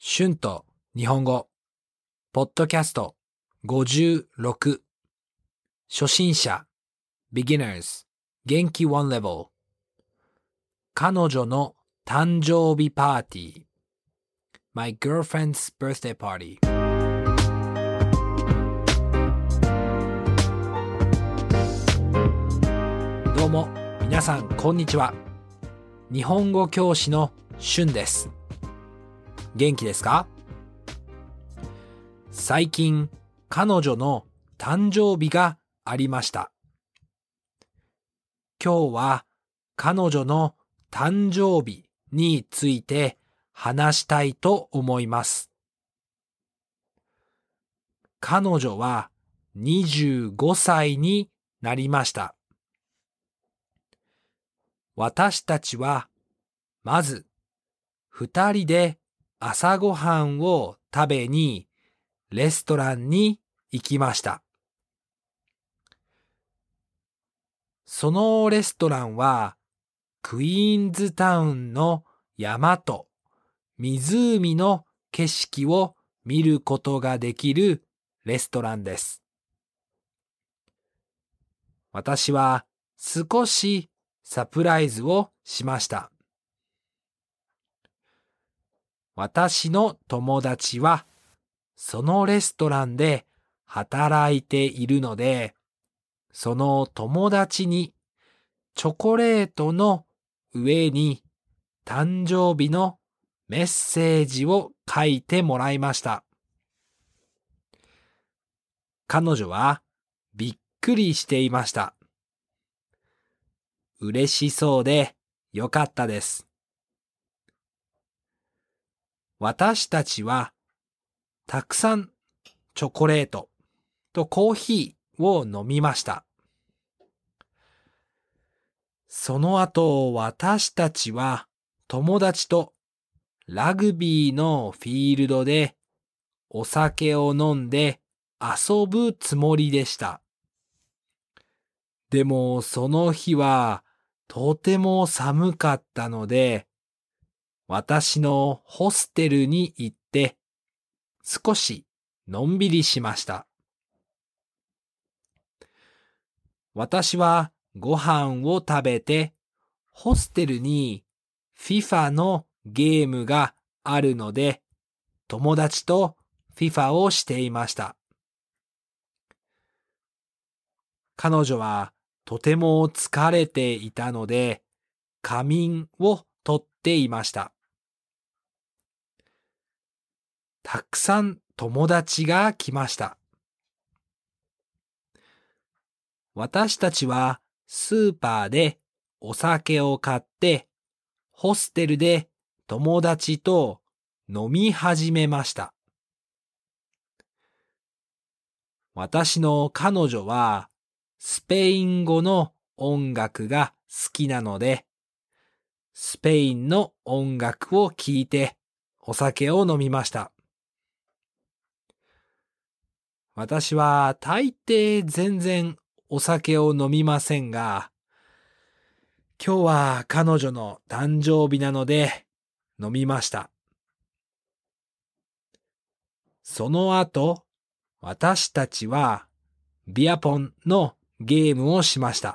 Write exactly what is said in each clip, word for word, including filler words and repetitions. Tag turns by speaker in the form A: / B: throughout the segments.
A: 春と日本語ポッドキャストごじゅうろく初心者 Beginners 元気ワンレベル彼女の誕生日パーティー My girlfriend's birthday party どうも皆さんこんにちは。日本語教師の春です。元気ですか？最近彼女の誕生日がありました。今日は彼女の誕生日について話したいと思います。彼女はにじゅうごさいになりました。私たちはまず二人で朝ごはんを食べにレストランに行きました。そのレストランはクイーンズタウンの山と湖の景色を見ることができるレストランです。私は少しサプライズをしました。私の友達はそのレストランで働いているので、その友達にチョコレートの上に誕生日のメッセージを書いてもらいました。彼女はびっくりしていました。嬉しそうでよかったです。私たちはたくさんチョコレートとコーヒーを飲みました。その後私たちは友達とラグビーのフィールドでお酒を飲んで遊ぶつもりでした。でもその日はとても寒かったので、私のホステルに行って少しのんびりしました。私はご飯を食べてホステルに フィファ のゲームがあるので友達と フィファ をしていました。彼女はとても疲れていたので仮眠をとっていました。たくさん友達が来ました。私たちはスーパーでお酒を買ってホステルで友達と飲み始めました。私の彼女はスペイン語の音楽が好きなので、スペインの音楽を聴いてお酒を飲みました。私は大抵全然お酒を飲みませんが、今日は彼女の誕生日なので飲みました。その後、私たちはビアポンのゲームをしました。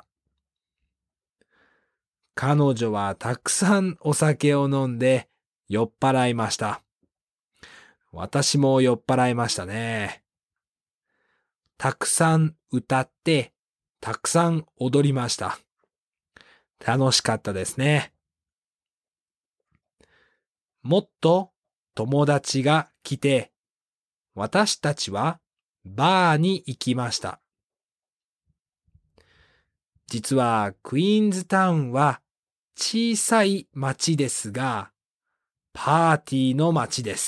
A: 彼女はたくさんお酒を飲んで酔っ払いました。私も酔っ払いましたね。たくさん歌って、たくさん踊りました。楽しかったですね。もっと友達が来て、私たちはバーに行きました。実はクイーンズタウンは小さい町ですが、パーティーの町です。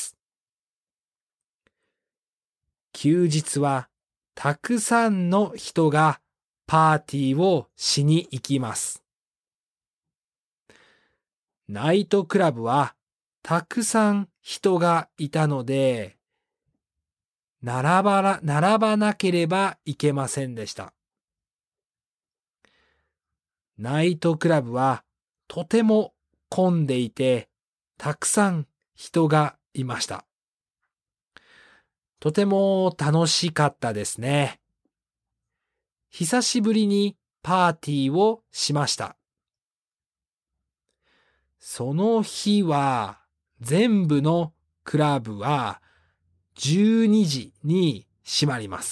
A: 休日はたくさんの人がパーティーをしに行きます。ナイトクラブはたくさん人がいたので、並ばな、並ばなければいけませんでした。ナイトクラブはとても混んでいて、たくさん人がいました。 とても楽しかったですね。久しぶりにパーティーをしました。その日は全部のクラブはじゅうにじに閉まります。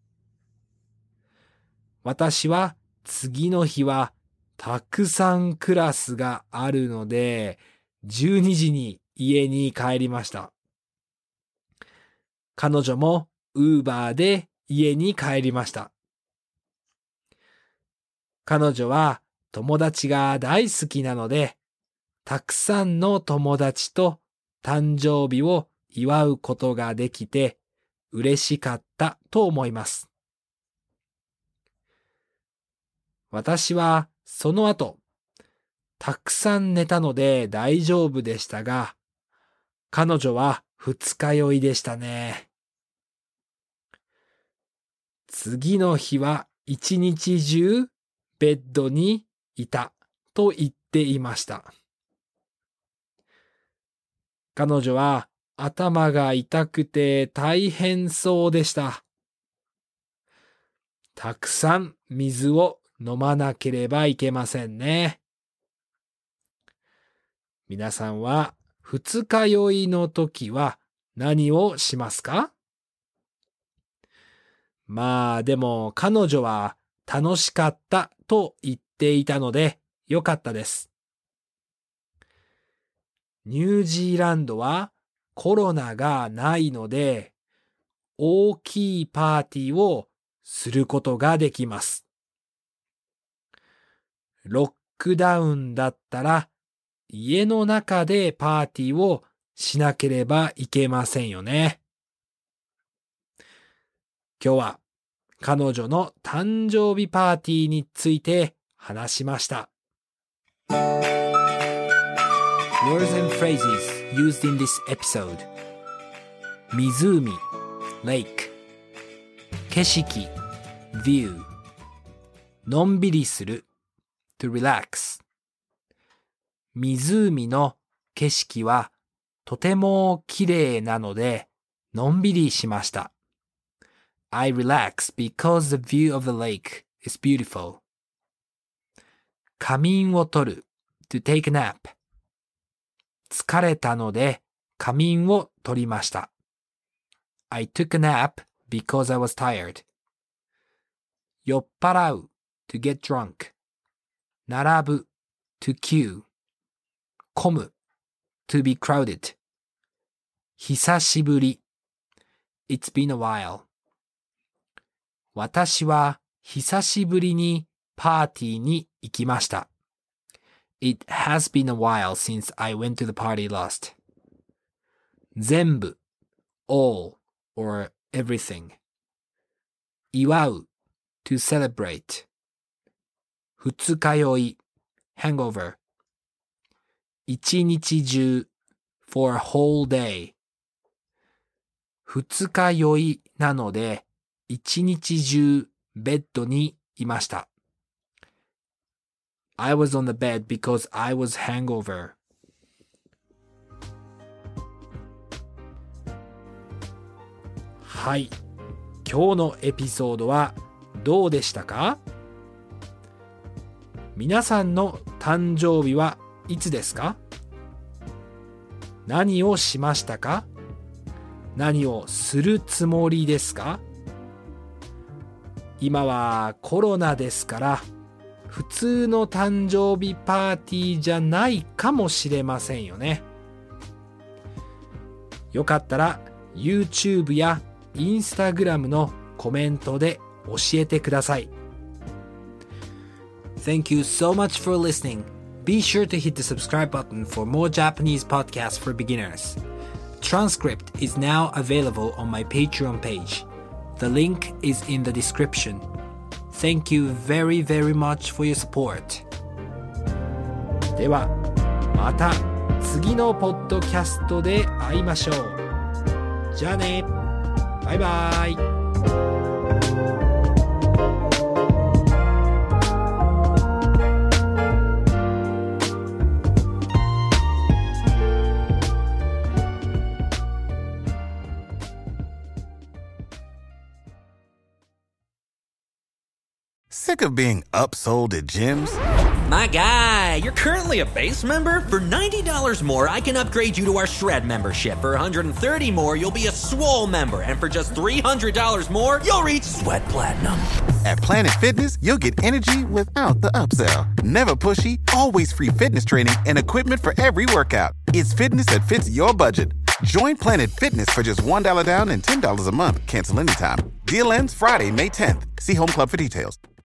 A: 私は次の日はたくさんクラスがあるので、じゅうにじに家に帰りました。彼女もウーバーで家に帰りました。彼女は友達が大好きなので、たくさんの友達と誕生日を祝うことができて嬉しかったと思います。私はその後、たくさん寝たので大丈夫でしたが、彼女は二日酔いでしたね。次の日は一日中ベッドにいたと言っていました。彼女は頭が痛くて大変そうでした。たくさん水を飲まなければいけませんね。皆さんは二日酔いの時は何をしますか？まあでも彼女は楽しかったと言っていたのでよかったです。ニュージーランドはコロナがないので大きいパーティーをすることができます。ロックダウンだったら家の中でパーティーをしなければいけませんよね。今日は彼女の誕生日パーティーについて話しました。Words and phrases used in this episode. 湖 lake 景色 view のんびりする to relax 湖の景色はとても綺麗なのでのんびりしました。I relax because the view of the lake is beautiful. 仮眠をとる to take a nap. 疲れたので仮眠をとりました。I took a nap because I was tired. 酔っ払う to get drunk. 並ぶ to queue. 混む to be crowded. 久しぶり It's been a while. 私は久しぶりにパーティーに行きました。It has been a while since I went to the party last. 全部 all or everything. 祝う to celebrate. 二日酔い hangover. 一日中 for a whole day. 二日酔いなので一日中ベッドにいました。I was on the bed because I was hangover. はい。今日のエピソードはどうでしたか？皆さんの誕生日はいつですか？何をしましたか？何をするつもりですか？今はコロナですから普通の誕生日パーティーじゃないかもしれませんよね。よかったら YouTube や Instagram のコメントで教えてください。Thank you so much for listening. Be sure to hit the subscribe button for more Japanese podcasts for beginners. Transcript is now available on my Patreon page. The link is in the description. Thank you very, very much for your support. では、また次のポッドキャストで会いましょう。じゃあね。バイバイ。
B: Sick of being upsold at gyms?
C: My guy, you're currently a base member? For ninety dollars more, I can upgrade you to our Shred membership. For one hundred thirty dollars more, you'll be a Swole member. And for just three hundred dollars more, you'll reach Sweat Platinum.
B: At Planet Fitness, you'll get energy without the upsell. Never pushy, always free fitness training and equipment for every workout. It's fitness that fits your budget. Join Planet Fitness for just one dollar down and ten dollars a month. Cancel anytime. Deal ends Friday, May tenth. See Home Club for details.